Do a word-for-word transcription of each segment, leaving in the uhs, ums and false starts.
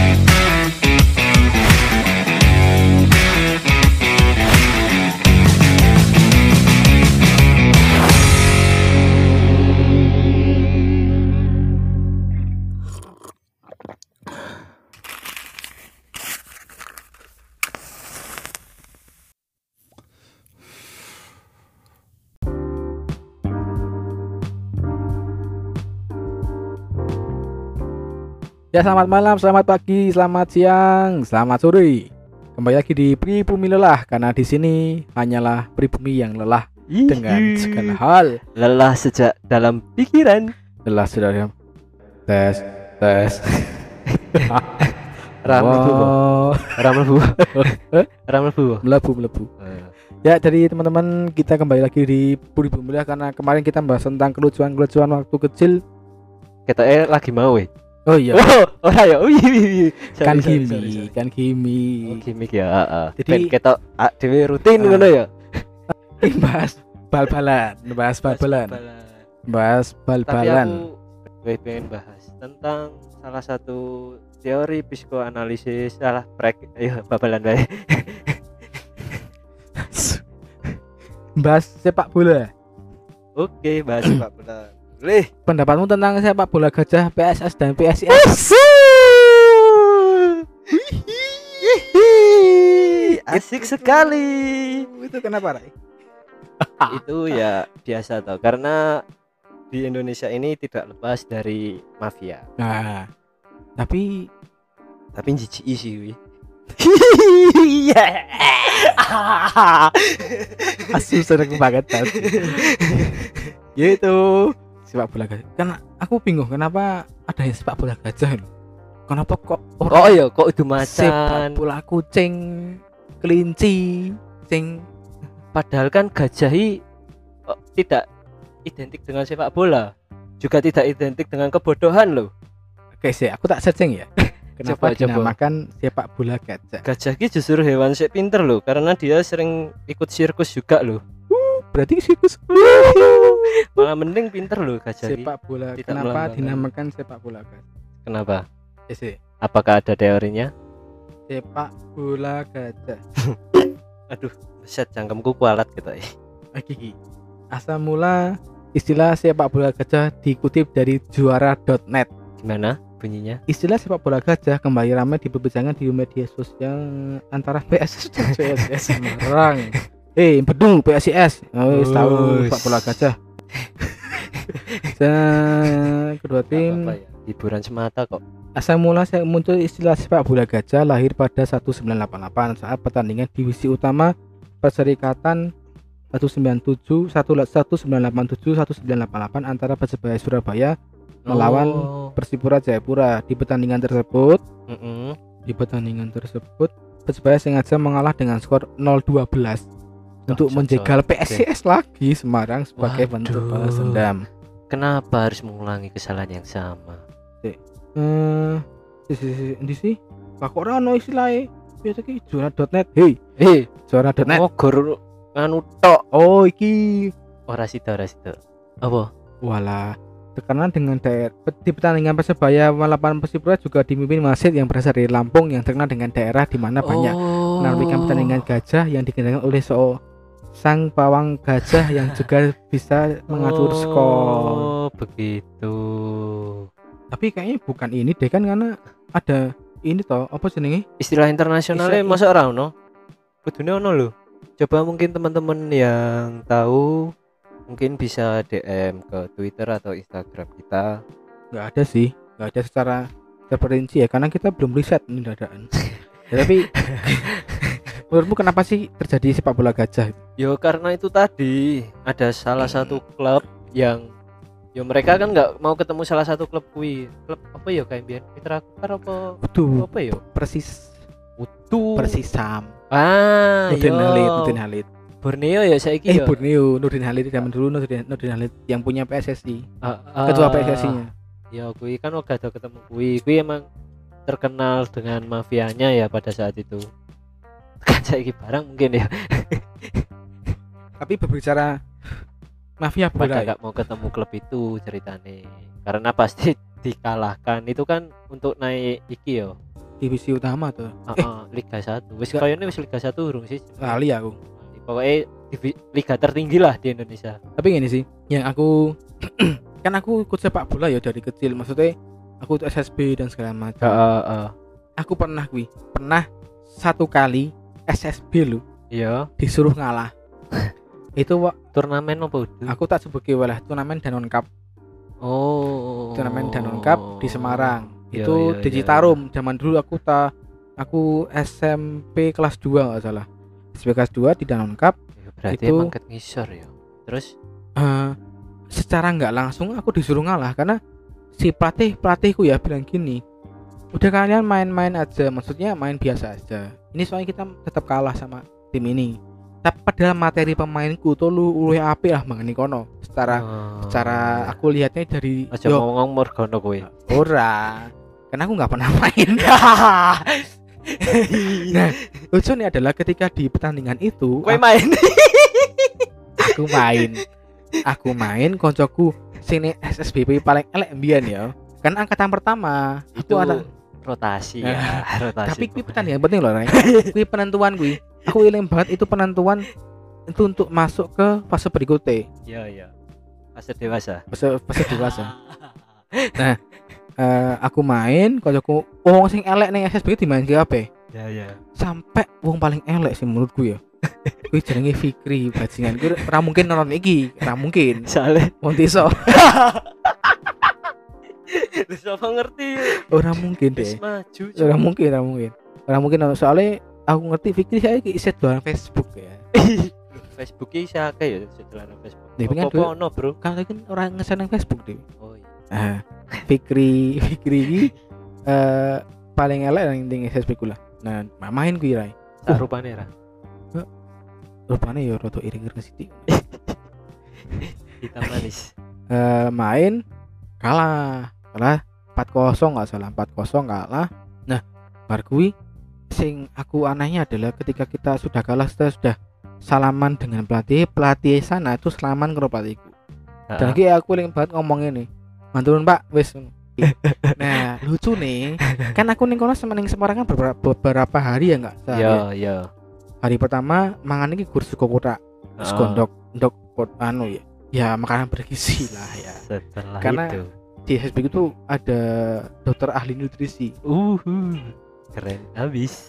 Ya, selamat malam, selamat pagi, selamat siang, selamat sore. Kembali lagi di Pribumi Lelah, karena di sini hanyalah pribumi yang lelah dengan segala hal. Lelah sejak dalam pikiran. Lelah sudah tes tes. Ramlebu, ramlebu, ramlebu, melebu melebu. Ya, jadi teman-teman, kita kembali lagi di Pribumi Lelah karena kemarin kita bahas tentang kelucuan-kelucuan waktu kecil. Kita eh lagi mau eh. Oh iya. Oh, oh ya. Oh iya. Kan gimmi, kan gimmi. Oh, gimmick ya, heeh. Jadi kita dhewe rutin ngono ya. bahas bal-balan, bahas bal-balan. Bahas Tapi bal-balan. aku pengen bahas tentang salah satu teori psikoanalisis salah prek ayo babalan bae. Bahas sepak bola. Oke, bahas sepak bola. Boleh. Pendapatmu tentang sepak bola gajah P S S dan P S I S? Asik sekali. Itu kenapa, Rai? Itu ya biasa toh, karena di Indonesia ini tidak lepas dari mafia. Nah, tapi Tapi jijik sih wi. asu sering banget tadi. Gitu. Sepak bola gajah. Kan aku bingung kenapa ada yang sepak bola gajah loh. Kenapa kok Oh iya, kok itu sepak macan. bola kucing, kelinci, sing Padahal kan gajah i, oh, tidak identik dengan sepak bola, juga tidak identik dengan kebodohan loh. Oke sih, aku tak searching ya. Kenapa Coba, coba. dinamakan sepak bola gajah? Gajah ki justru hewan sik pinter loh, karena dia sering ikut sirkus juga loh. Berarti sirkus. Malah mending pinter loh gajah ki. Sepak bola. Tidak Kenapa melanggar. dinamakan sepak bola gajah? Kenapa? Ya sih, Apakah ada teorinya? sepak bola gajah. Aduh, set cangkemku kualat gitu ya. Lagi. Asal mula istilah sepak bola gajah dikutip dari juara dot net. Gimana bunyinya? Istilah sepak bola gajah kembali ramai diperbincangkan di media sosial antara P S S dan P S I S Semarang. Eh, betul P S I S. Oh, tahu sepak bola gajah. Nah, kedua tim Apa ya? Hiburan semata kok. asal mula saya muncul istilah sepak bola gajah lahir pada seribu sembilan ratus delapan puluh delapan saat pertandingan divisi utama Perserikatan seribu sembilan ratus tujuh belas seribu sembilan ratus delapan puluh tujuh seribu sembilan ratus delapan puluh delapan antara Persebaya Surabaya melawan Oh. Persipura Jayapura. Di pertandingan tersebut, Mm-mm. di pertandingan tersebut Persebaya sengaja mengalah dengan skor nol dua belas untuk Cocok, menjegal cocok. P S I S lagi Semarang sebagai bentuk Waduh. balas dendam. Kenapa harus mengulangi kesalahan yang sama? Eh, si si si di sih. Lah kok ora ono istilahnya. Biasa ki juara dot net. Hei, Eh, juara dot net. oh gor anu tok. Oh, iki. Ora sida, ora sida. Apa? Walah, tekanan dengan daerah di pertandingan Persebaya melawan Persipura juga dipimpin wasit yang berasal dari Lampung yang terkenal dengan daerah di mana banyak Oh. menampilkan pertandingan gajah yang dikendalikan oleh so sang pawang gajah yang juga bisa mengatur skor. Oh, begitu. Tapi kayaknya bukan ini deh kan, karena ada ini toh apa jenenge? Istilah internasionalnya Istilah- masa ora ono? Kudune ono lho. Coba mungkin teman-teman yang tahu mungkin bisa D M ke Twitter atau Instagram kita. Nggak ada sih, nggak ada secara terperinci ya, karena kita belum riset ini dadaan. Ya, tapi menurutmu kenapa sih terjadi sepak bola gajah? Yo karena itu tadi ada salah satu klub yang yo mereka kan nggak mau ketemu salah satu klub kui. Klub apa ya kayak biar Mitra Kukar apa Betul. apa ya? Persis, Utuh. Persisam. Ah, Nurdin yo. Halid, Nurdin Halid. Borneo ya saiki Eh, ya. Borneo, Nurdin Halid zaman dulu Nurdin, Nurdin Halid yang punya P S S I, Ah, ah. ketua P S S I-nya. Ya kui kan udah ada ketemu kui. Kui emang terkenal dengan mafianya ya pada saat itu. Kan saiki barang mungkin ya. Tapi berbicara mafia Pada bola, ya? nggak mau ketemu klub itu ceritane. Karena pasti dikalahkan. Itu kan untuk naik iki yo. divisi utama tuh. Heeh, Liga satu. Wis Enggak. kayaknya wis Liga satu urung sih. Lali aku. Pokoknya divi- liga tertinggi lah di Indonesia. Tapi gini sih, yang aku kan aku ikut sepak bola ya dari kecil. Maksudnya aku ikut S S B dan segala macam. Heeh, heeh. Aku pernah kuwi, pernah satu kali S S B lu Iya, disuruh ngalah. Itu wa- turnamen apa itu? aku tak sebut walah turnamen Danon Cup. Oh. Turnamen Danon Cup di Semarang. Iya, Itu iya, di iya, Citarum. Zaman dulu aku ta aku S M P kelas dua enggak salah. S M P kelas dua di Danon Cup. iya. Ya, berarti Itu- emang ket ngisor ya. Terus eh secara nggak langsung aku disuruh ngalah karena si pelatih pelatihku ya bilang gini, udah kalian main-main aja, maksudnya main biasa aja. Ini soalnya kita tetap kalah sama tim ini. Tapi padahal materi pemainku tuh lu luwih apik lah mengenai kono. Secara oh, secara aku lihatnya dari aja yo ngomong Morgana kowe. ora. Karena aku nggak pernah main. Nah, lucu nih adalah ketika di pertandingan itu Kowe main. aku main aku main koncoku sini S S B P paling elek mbiyen ya kan angkatan pertama Itu aku ada rotasi ya, rotasi. tapi kuwi pertandingan penting loh Ray. Kuwi penentuan kuwi aku eling banget itu penentuan itu untuk masuk ke fase berikutnya Iya, iya. Fase dewasa. fase fase dewasa eh, aku main koncoku wong sing elek ning S S B dimain ke apa Ya, ya. sampai wong paling elek sih menurutku ya kuwi jenenge Fikri bajingan kuwi ora mungkin nonton iki ora mungkin Soalnya wong desa lu siapa ngerti? ora mungkin Wis deh maju. ora mungkin ora mungkin ora mungkin soalnya aku ngerti Fikri saya iset doang Facebook ya Facebook iki akeh ya setelah Facebook. Nih, pengen Apa dulu. ono, Bro? kan kan orang ngeseneng Facebook deh Oh iya. ah Fikri Fikri ini eh paling elek yang ning S S B ku lah nah main kuwi rai Tak rupane ra. rupane ya rada iring-iring sithik Hitam manis. eh main kalah kalah empat kosong enggak salah empat kosong kalah nah bar kuwi sing aku anehnya adalah ketika kita sudah kalah kita sudah salaman dengan pelatih pelatih sana itu salaman karo pelatihku dan ki aku paling banget ngomong ini manturun Pak wis nah lucu nih kan aku ning kono semeneng Semarang kan beberapa, beberapa hari ya enggak Iya, iya. hari pertama mangan iki gur sego kotak sego ndok ndok pot anu ya ya makanan bergizi lah ya Setelah Karena- itu. di S S B itu ada dokter ahli nutrisi Uh, keren habis.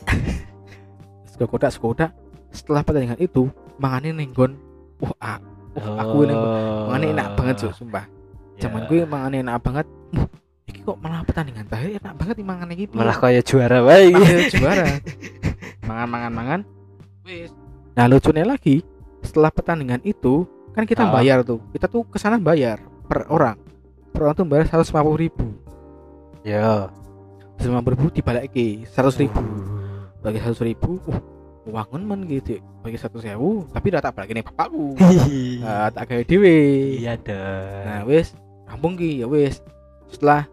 sego kotak sego kotak setelah pertandingan itu mangane nenggon wah ah, wah, aku ini mangane enak banget Cuk, sumpah zaman gue mangane enak banget wah iki kok malah pertandingan terakhir enak banget nih mangan iki malah kayak juara wae iki. Malah juara mangan mangan mangan wis nah lucunya lagi setelah pertandingan itu kan kita Ah. bayar tuh kita tuh kesana bayar per orang per orang tuh bayar seratus lima puluh ribu Ya. seratus lima puluh ribu dibalik ke seratus ribu bagi seratus ribu uh wangun men gitu bagi satu sewu tapi udah tak balik nih bapakku uh, tak kayak dewe Iya dong. nah wis rampung ki ya wis setelah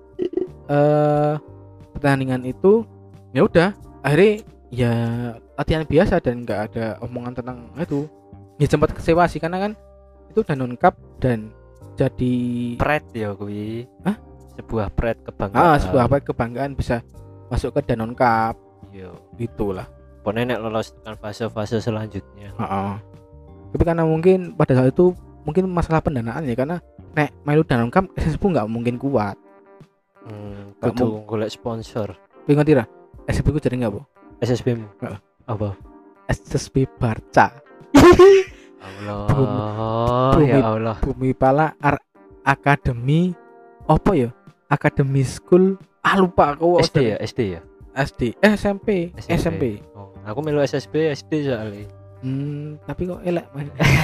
eh pertandingan itu ya udah akhirnya ya latihan biasa dan nggak ada omongan tentang itu ya sempat kecewa sih karena kan itu Danon Cup dan jadi Pret ya kuwi. Hah? Sebuah pret kebanggaan. ah sebuah apa kebanggaan bisa masuk ke Danon Cup Yo. itulah. Pokoknya nek lolos tekan fase-fase selanjutnya. Heeh. Tapi karena mungkin pada saat itu mungkin masalah pendanaan ya karena nek melu Danon Cup S S B nggak mungkin kuat. Hmm, Gak kudu golek sponsor. Kowe ngerti ra? S S B ku jadi nggak bu? S S B mu. Heeh. Apa? S S B Barca. Allah. Bumi- Ya Allah. Bumi Pala Ar Akademi apa ya? Akademi School ah lupa aku S D ya, S D ya. S D eh S M P S M P. S M P Oh, aku melu S S B S D soalnya. hmm tapi kok elek Mas.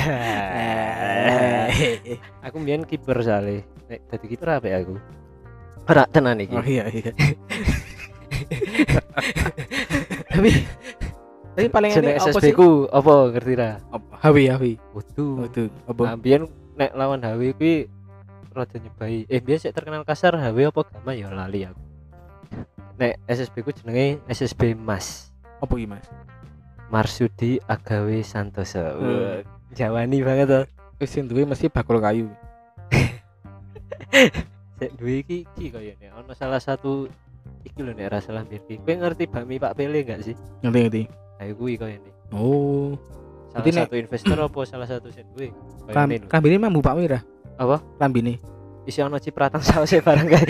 Aku mbiyen kiper soalnya. Nek dadi kiper apa ya aku? Ora tenan iki. oh iya iya tapi tapi paling Jeneng enak S S apa B sih ku apa ngerti ra? H W H W Waduh. waduh apa Nah, mbiyen nek lawan H W kuwi rada nyebai. Eh, biyen sik terkenal kasar H W apa Gama ya lali aku. Nek S S B ku jenenge S S B Mas. apa iki Mas Marsudi Agawe Santoso. Hmm. Wah, Jawani banget to. wis sing duwe mesti bakul kayu Sik duwe iki iki kayane ana salah satu iki lho nek ra salah mbir ki. Kowe ngerti bakmi Pak Pele enggak sih? Ngerti ngerti. Ayo kuwi koyo ini. Oh, Salah Berarti nek- satu investor apa salah satu sen duwe? Koyo Kam ini lho. kambine mambu Pak Mira. Apa? Kambine. Isi ono cipratan sausé bareng kae.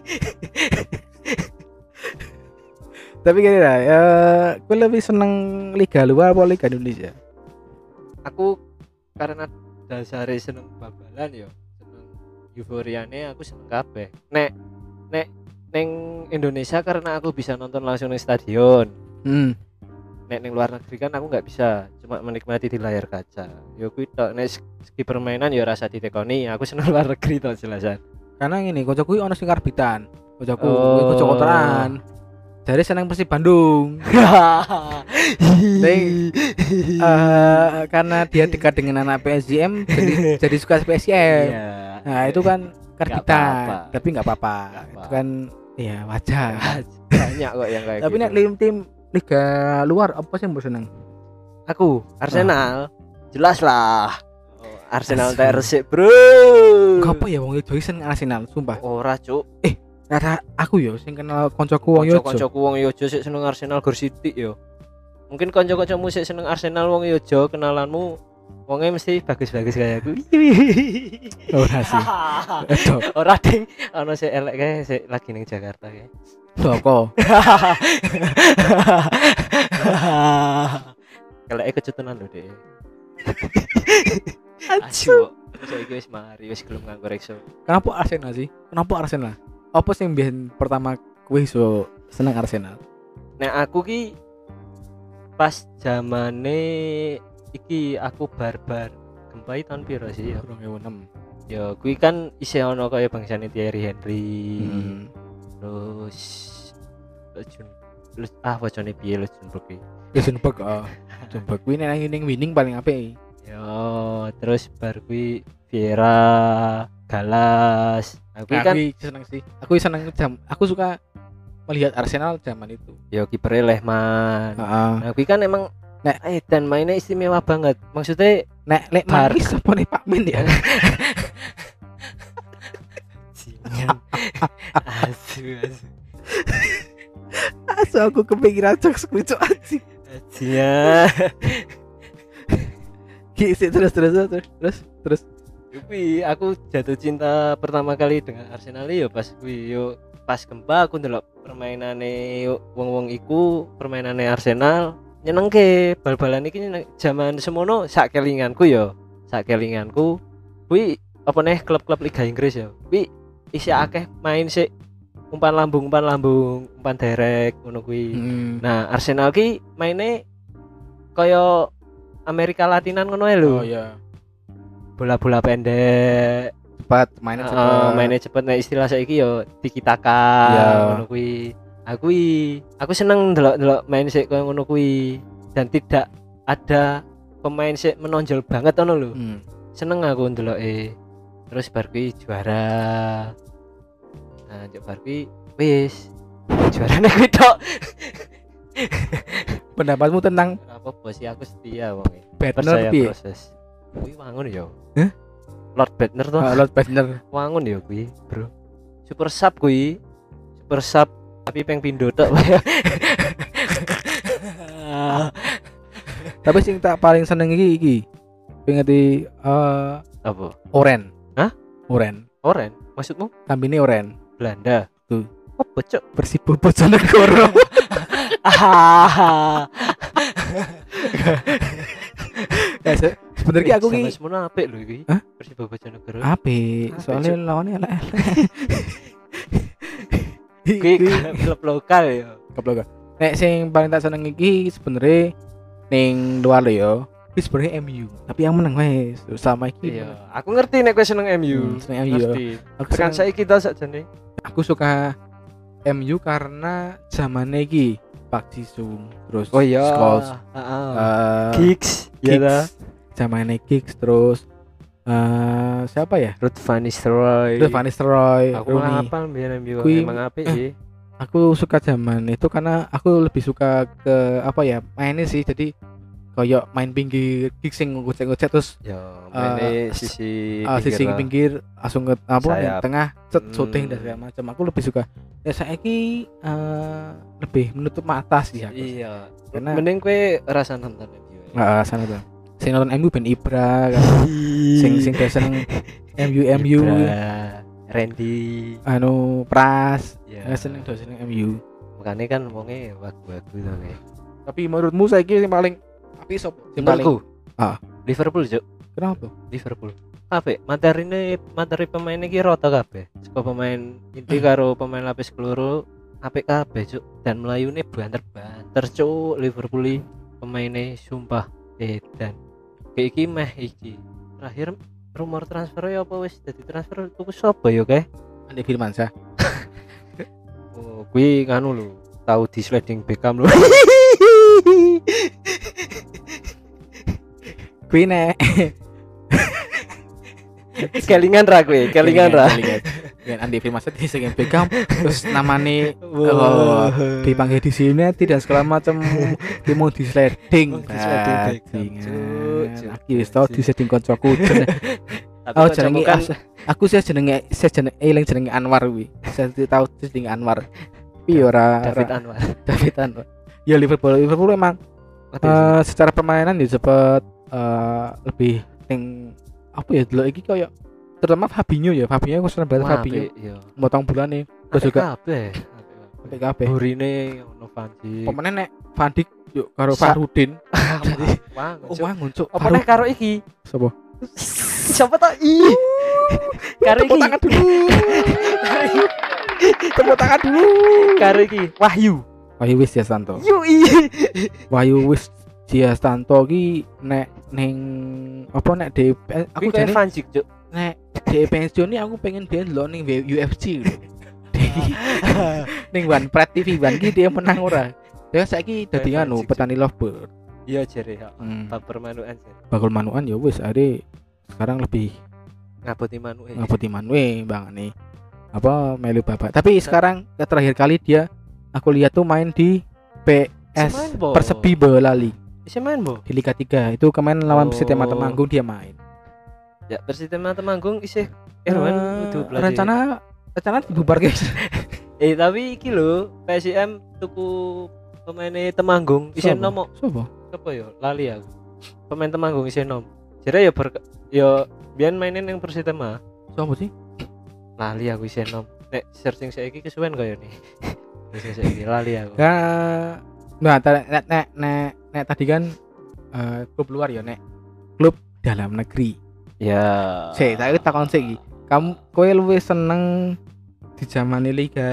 Tapi gini lah, ya, gue lebih seneng Liga luar apa Liga Indonesia? Aku karena dasare seneng babalan yo, seneng euforiane aku seneng kabeh. Nek nek neng Indonesia karena aku bisa nonton langsung di stadion. Hmm. Nek neng luar negeri kan aku nggak bisa, cuma menikmati di layar kaca. Yo kuwi tok nek segi permainan yo rasa ditekoni, aku seneng luar negeri tok jelasan. Karena ini, kocokku ono sing karbitan, kocokku, Oh. oh. kocok kotoran. Jadi seneng Persib Bandung. Neng, eh, karena dia dekat dengan anak P S G M, jadi, jadi suka P S G M. Iya. Nah itu kan karbitan, apa-apa. tapi nggak apa-apa. Nggak Itu apa. kan, ya wajar. Banyak kok yang kayak Tapi gitu. nek tim-tim Liga luar apa sih yang mbok seneng? Aku Arsenal, jelas lah. Oh, Arsenal Asu. tak resik, Bro. Apa ya wong Yojo seneng Arsenal, sumpah. Ora, Cuk. Kata aku yo sing kenal koncoku wong Yojo. Kanca-kancaku wong Yojo sik seneng Arsenal Gor City yo. Mungkin kanca-kancamu sik seneng Arsenal wong Yojo, kenalanmu wonge mesti bagus-bagus kayak aku. Ora sih. Edo, Ora ding, ana sik elek kae sik lagi ning Jakarta kae. soko. Keleke kecutenan lho, Dek. Asu. Asu. Saiki wis mari, wis gelem nganggo rekso. Kenapa Arsenal sih? Kenapa Arsenal? Apa sing biyen pertama kowe iso seneng Arsenal? Nek aku ki pas zamane iki aku barbar gempai tahun piro sih ya? dua ribu enam. Ya kuwi kan isih ono kaya bangsane Thierry Henry. Hmm. Terus Lejun Lej ah wacane piye Lejenburg iki. Luxembourg, oh. Luxembourg kuwi nek ning winning paling apik. Ya terus bar kuwi Vieira, Galas. Nah, kuwi kan Aku seneng sih. Aku seneng jam. Aku suka melihat Arsenal zaman itu. ya kiper Lehmann. Heeh. Nah kuwi kan emang Nek- eh dan mainnya istimewa banget. Maksudnya Nek lek Bar- Manis apa nih Pak Min ya? Sinyan. asu asu Asu aku kepikiran jokes kuwi cok anjing. asia Ki sik, terus terus terus terus terus. Kuwi aku jatuh cinta pertama kali dengan Arsenal ya pas kuwi yo pas gempa aku ndelok permainane wong-wong iku, permainane Arsenal nyenengke. Bal-balan iki nyeneng- jaman semono sak kelinganku yo. Sak kelinganku kuwi apa neh klub-klub Liga Inggris ya. Kuwi isi akeh main sik umpan lambung, umpan lambung, umpan derek ngono kuwi. Hmm. Nah, Arsenal ki maine kaya Amerika Latinan ngono ae lho. Oh iya. Bola-bola pendek. Cepat mainnya Heeh, cepat. mainnya cepet. Nah, istilah saiki yo tiki taka Iya. ngono kuwi. Aku kuwi, aku seneng ndelok-ndelok main sik kaya ngono kuwi dan tidak ada pemain sik menonjol banget ngono lho. Hmm. Seneng aku ndeloke. Terus bar kuwi juara. Nah, njok bar kuwi wis juarane kuwi tok. Pendapatmu tentang Apa bos sih aku setia wonge. Bednar Percaya piye? proses. Kuwi wangun yo. Hah? Lord Bednar toh. Ah, Lord Bednar. Wangun yo kuwi, Bro. Super sub kuwi. Super sub tapi peng pindho tok. Tapi sing tak paling seneng iki iki. Pengeti eh Apa? Oren. Hah? Oren. Oren? Maksudmu Kambine Oren. Belanda? Tuh. Apa, Cuk? Persibo Bojonegoro. Ya, se- sebenarnya aku ki semono apik lho iki. Hah? Persibo Bojonegoro. apik, Apik, soalnya Cuk. lawannya elek. Kuwi klub lokal ya. Goblok. Nek sing paling tak seneng iki sebenarnya ning luar lho ya. Iki sebenarnya M U, tapi yang menang wes sama iki. Iya, aku ngerti nek kowe seneng M U. Hmm, seneng M U, ya. Ngerti. Aku Tekan seneng- saiki kita sakjane. Aku suka M U karena zamannya iki Pak Jisung, terus Oh iya. Scholes, Heeh. eh, Giggs, ya ta. zamannya Giggs, terus eh siapa ya? Ruth Van Nistelrooy. Terus Van Nistelrooy, Aku malah Rooney. hafal biar M U Kui- emang apik eh, sih. Aku suka zaman itu karena aku lebih suka ke apa ya mainnya sih, jadi koyo main pinggir kick sing ngocek-ngocek terus Ya, mainnya Eh, sisi uh, sisi lah. pinggir langsung ke apa Sayap. yang tengah set Hmm. shooting dan segala macam. Aku lebih suka. Ya saiki eh lebih menutup mata sih aku. Iya. Karena Mending kowe rasa nonton M U. Heeh, sana tuh. Sing nonton M U ben Ibra kan. sing sing biasa seneng M U M U Ibra, Randy. anu Pras. Ya. Ya seneng do seneng M U. Makanya kan wonge wagu-wagu to kae. Tapi menurutmu saiki sing paling apik sapa? Sing paling Menurutku. Ah. Liverpool, Cuk. kenapa? Liverpool. Kabeh materine materi pemain iki rata kabeh. Saka pemain inti karo pemain lapis keloro apik kabeh, Cuk. Dan melayune banter-banter, Cuk. Liverpool iki pemaine sumpah edan. Kayak iki meh iki. Terakhir rumor transfer ya apa wis dadi transfer tuku sapa ya kae? Andi Firmansyah. Oh, kuwi nganu lho, tahu di sliding Beckham lho. Kuwi nek Kelingan ra kuwi, kelingan ra. Dengan Andi Firmansyah di sing Beckham terus namanya Wow. dipanggil di sini tidak segala macam dia mau di sliding Mau di sliding Beckham, bajingan. cuk, cuk, Aku wis tau di sliding koncoku jeneng- Tapi oh kok jenenge kan as- aku sih jenenge saya jenenge eling jenenge Anwar kuwi saya tahu jenenge Anwar tapi ora David ora- Anwar. David Anwar ya Liverpool Liverpool emang eh, secara permainan ya cepet eh, lebih ting apa ya dulu iki koyo terutama Fabinho ya Fabinho aku seneng banget Fabinho iya. motong bulan nih terus juga kabeh. sampai kabeh Burine ono Vanji. pemainnya nek Van Dijk yuk karo Sa- Farudin Wah, oh wah nguncuk apa nih karo iki? sapa Siapa tak i? Karo tepuk iki. tangan dulu tepuk tangan dulu Karo iki Wahyu. Wahyu Wis Jastanto Yui. Wahyu Wis Jastanto ki nek ning apa nek D P aku Aku kayak jane Vanji, Cuk. nek D pensiun ini aku pengen dia ndelok ning U F C lho. Di- ning One Pride T V One ki dia menang ora. Ya saiki dadi Kayak anu Vanjik, petani lovebird. Iya jere ya. Hmm. Baper manukan jere. Bakul manuan ya wis are sekarang lebih Ngaboti manuke. ngapoti manue bang nih apa melu bapak. Tapi sekarang terakhir kali dia aku lihat tuh main di P S Main, Bo. Persepi Boyolali Bisa main, Bo. di Liga tiga. Itu kemarin lawan Oh. Persitema Temanggung dia main. Ya, Persitema Temanggung isih Eh, Erwan kudu belajar. rencana rencana dibubar guys. Eh tapi iki lho, P S I M tuku pemainnya Temanggung isih Sopo? nom Sopo? apa ya? Lali aku. Pemain Temanggung isih nom. Jare ya ber ya biyen mainin yang Persitema. Sopo sih? Lali aku isih nom. Nek searching saiki kesuwen kaya nih. Wis saiki lali aku. Nah, nah ta- nek nek nek, nek tadi kan eh, klub luar ya nek klub dalam negeri. Ya. Sik, tak takon sik iki. Kamu kowe luwih seneng di zaman Liga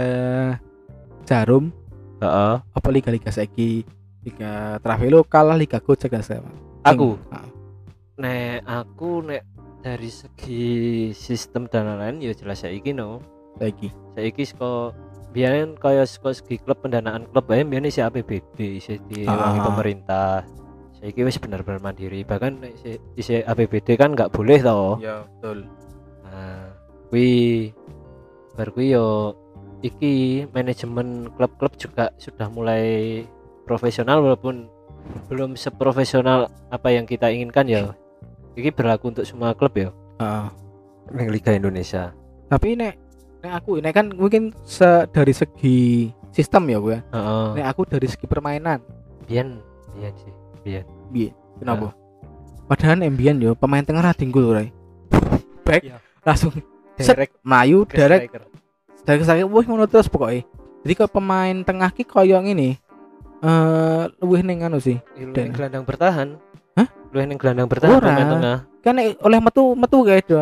Jarum Heeh. apa liga-liga saiki? Liga Travelo kalah Liga Gojek gak sih? Aku. Heeh. Nek aku nek dari segi sistem dan lain-lain ya jelas saiki no. Saiki. Saiki saka biyen kaya saka segi klub pendanaan klub bae biyen isi A P B D isi diwangi Ah. pemerintah. Saiki wis bener-bener mandiri. Bahkan nek isi, isi A P B D kan nggak boleh toh. Ya, betul. Nah, kuwi bar kuwi yo iki manajemen klub-klub juga sudah mulai profesional walaupun belum seprofesional apa yang kita inginkan ya. Iki berlaku untuk semua klub ya. Heeh. Ning Liga Indonesia. Tapi nek nek aku nek kan mungkin se, dari segi sistem ya gue. Heeh. Nek aku dari segi permainan. Biyen, biyen sih. Biyen. Piye? Kenapa? Padahal Embian yo pemain tengah ra tinggul ora. Back Iya. langsung set Direct melayu ke direct striker. dari saya wah ngono terus pokoknya. Jadi kalau pemain tengah ki koyo ngene eh luwih ning anu sih. Lu Dan- yang gelandang bertahan. Hah? Lu yang gelandang bertahan Ora. pemain tengah. Kan nek oleh metu metu kae do.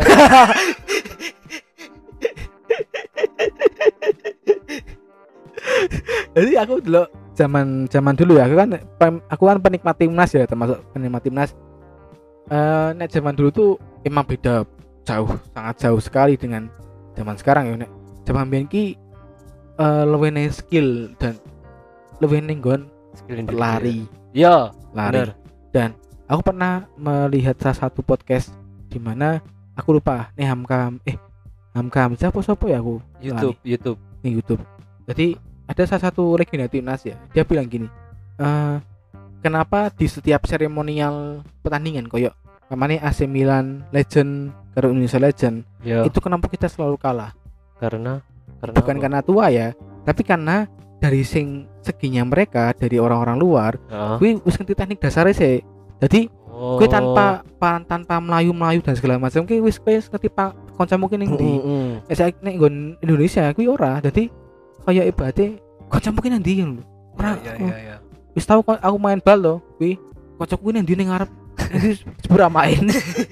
Jadi aku dulu zaman zaman dulu ya aku kan pem- aku kan penikmat timnas ya termasuk penikmat timnas. Eh nek zaman dulu tuh emang beda jauh sangat jauh sekali dengan zaman sekarang ya nek zaman biyen ki eh luwih ning skill dan luwih ning nggon Skill individu. lari Iya, lari bener. dan aku pernah melihat salah satu podcast di mana aku lupa nih Hamkam eh Hamkam siapa siapa ya aku YouTube, YouTube. di YouTube. Jadi ada salah satu legenda timnas ya. Dia bilang gini, eh kenapa di setiap seremonial pertandingan koyo namanya A C Milan Legend karo Indonesia Legend Ya, itu kenapa kita selalu kalah? karena karena Bukan apa? karena tua ya, tapi karena dari sing seginya mereka dari orang-orang luar, Heeh. kuwi wis ngerti teknik dasarnya sih. Jadi Oh. kuwi tanpa pa, tanpa melayu-melayu dan segala macam kuwi wis kuwi wis ngerti pak kanca mungkin ning ndi. Heeh. Nek saiki nek nggon Indonesia kuwi ora. Dadi kaya ibate kanca mungkin nang ndi ngono. Ora. Ya ya ya. Wis tau kok aku main bal loh, kuwi kancaku kuwi nang ndi ning ngarep. Nanti sepura main.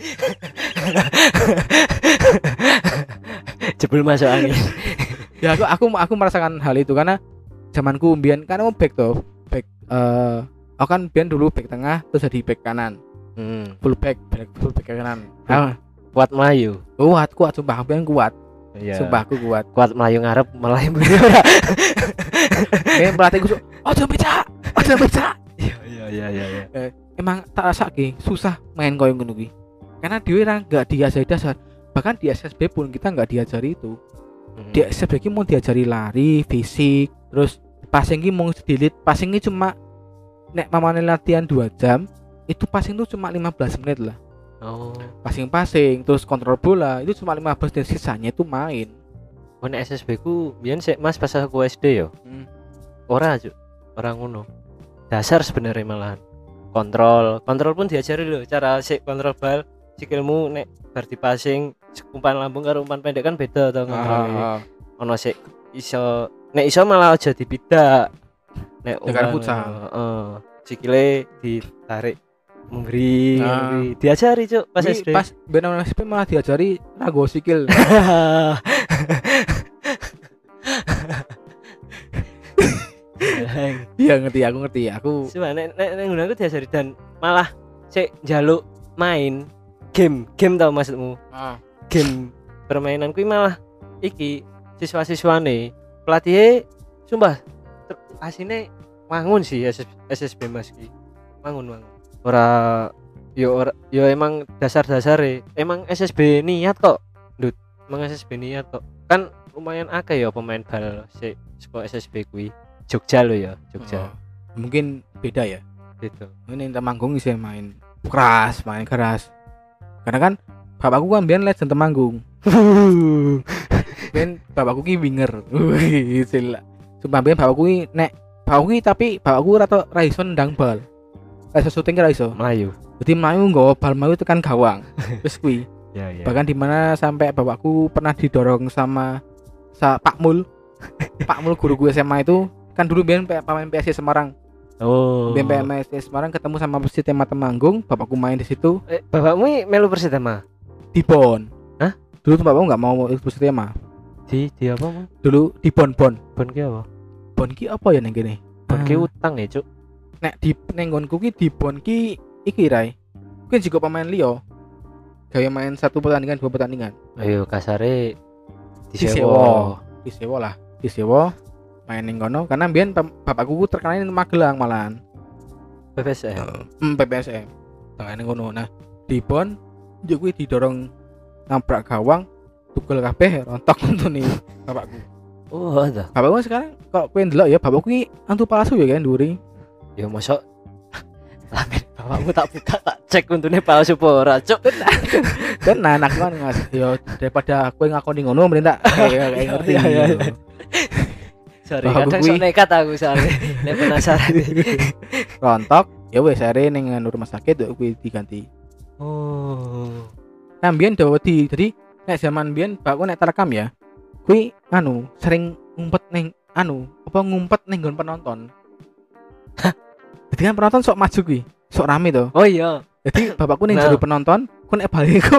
Jebul masuk angin. Ya aku aku aku merasakan hal itu karena zamanku mbiyen kan aku back tuh, back eh aku kan mbiyen dulu back tengah terus jadi back kanan. Hmm. Full back, back full back kanan. Ah, Kuat melayu. kuat kuat sumpah mbiyen kuat. Iya. Sumpah aku kuat. Kuat melayu ngarep melayu mburi ora. Kayak pelatihku su- ojo becak, ojo becak. Iya iya iya iya iya. Emang tak rasake susah main koyo ngono kuwi. Karena dhewe ra enggak diajari dasar. Bahkan di S S B pun kita enggak diajari itu. Hmm. Di S S B ki mau diajari lari, fisik, terus passing ki mau delete, passing ki cuma nek mamane latihan dua jam, itu passing tuh cuma lima belas menit lah. Oh. Passing-passing, terus kontrol bola, itu cuma lima belas dan sisanya itu main. Wan S S B ku biyen sik Mas pas aku S D yo. Hmm. Ora Cuk. Ora ngono. Dasar sebenarnya malahan. Kontrol, kontrol pun diajari loh cara sik kontrol bal, sikilmu nek bar di passing umpan lambung karo umpan pendek kan beda to kontrolnya. Ah, Ono sik iso nek iso malah aja dibidak. Nek Dengan umpan, futsal. heeh. Sikile ditarik memberi, Ah. memberi. Diajari Cuk pas Pas S D. pas benar S S B malah diajari rago sikil. Iya ngerti, aku ngerti. Aku Coba nek nek nek nggunanku diajari dan malah sik njaluk main game, game tau maksudmu? ah, Game permainan kuwi malah iki siswa-siswane pelatihnya sumpah ter- asine wangun sih S S B Mas ki. Wangun wangun. Ora yo ora yo emang dasar-dasare. Emang S S B niat kok. Ndut, emang S S B niat kok. Kan lumayan akeh ya pemain bal sik saka S S B kuwi. Jogja lo ya, Jogja. oh, mungkin beda ya. Gitu. Ini Temanggung sih main keras, main keras. Karena kan bapakku kan biyen legend Temanggung. Ben bapakku ki winger. Wih, sila. Sumpah ben bapakku ki nek bapakku ki tapi bapakku ora tau ra iso nendang bal. Ra iso syuting ra iso. Melayu. Jadi mlayu nggawa bal mlayu tekan gawang. Wis kuwi. Ya ya. Bahkan di mana sampai bapakku pernah didorong sama sa Pak Mul. Pak Mul guru gue S M A itu kan dulu biyen pe- pemain P S S Semarang. Oh. Biyen P S S Semarang ketemu sama Persitema Temanggung, bapakku main di situ Eh, bapakmu i melu Persitema? di Bon. Hah? Dulu tuh bapakku nggak mau ikut Persitema. Di di apa, Mang? Dulu di Bon Bon. Bon ki apa? Bon ki apa ya neng kene? Bon ki Ah. utang ya, Cuk. Nek di nenggonku ki di Bon ki iki rai. Kuwi juga pemain liya. Gaya main satu pertandingan dua pertandingan. Ayo kasare Disewa. disewa. Disewa lah, disewa main ning kono karena biyen pem- bapakku ku terkenal ning Magelang malahan. P P S M. Hmm, P P S M. Tengah ning kono. Nah, di Bon yo kuwi didorong nabrak gawang, tugel kabeh rontok untune bapakku. Oh, ada. Bapakku sekarang kok kowe ndelok ya bapakku ki antu palsu ya kan nduri. Ya mosok lamin bapakmu tak buka tak cek untune palsu apa ora, Cuk. Tenan aku kan ngas yo daripada kowe ngakoni ngono mending tak kayak kayak ngerti. Iya, iya, iya. Sorry, Bapakku kadang kuwi- sok nekat aku soalnya nek penasaran. Rontok, ya wis are ning anu rumah sakit yo kuwi diganti. Oh. Nah, biyen dawa di jadi nek zaman biyen bapakku nek terekam ya. Kuwi anu sering ngumpet ning anu apa ngumpet ning nggon penonton. Jadi kan penonton sok maju kuwi, sok rame to. Oh iya. Jadi bapakku ning Nah. jero penonton, ku nek baliku.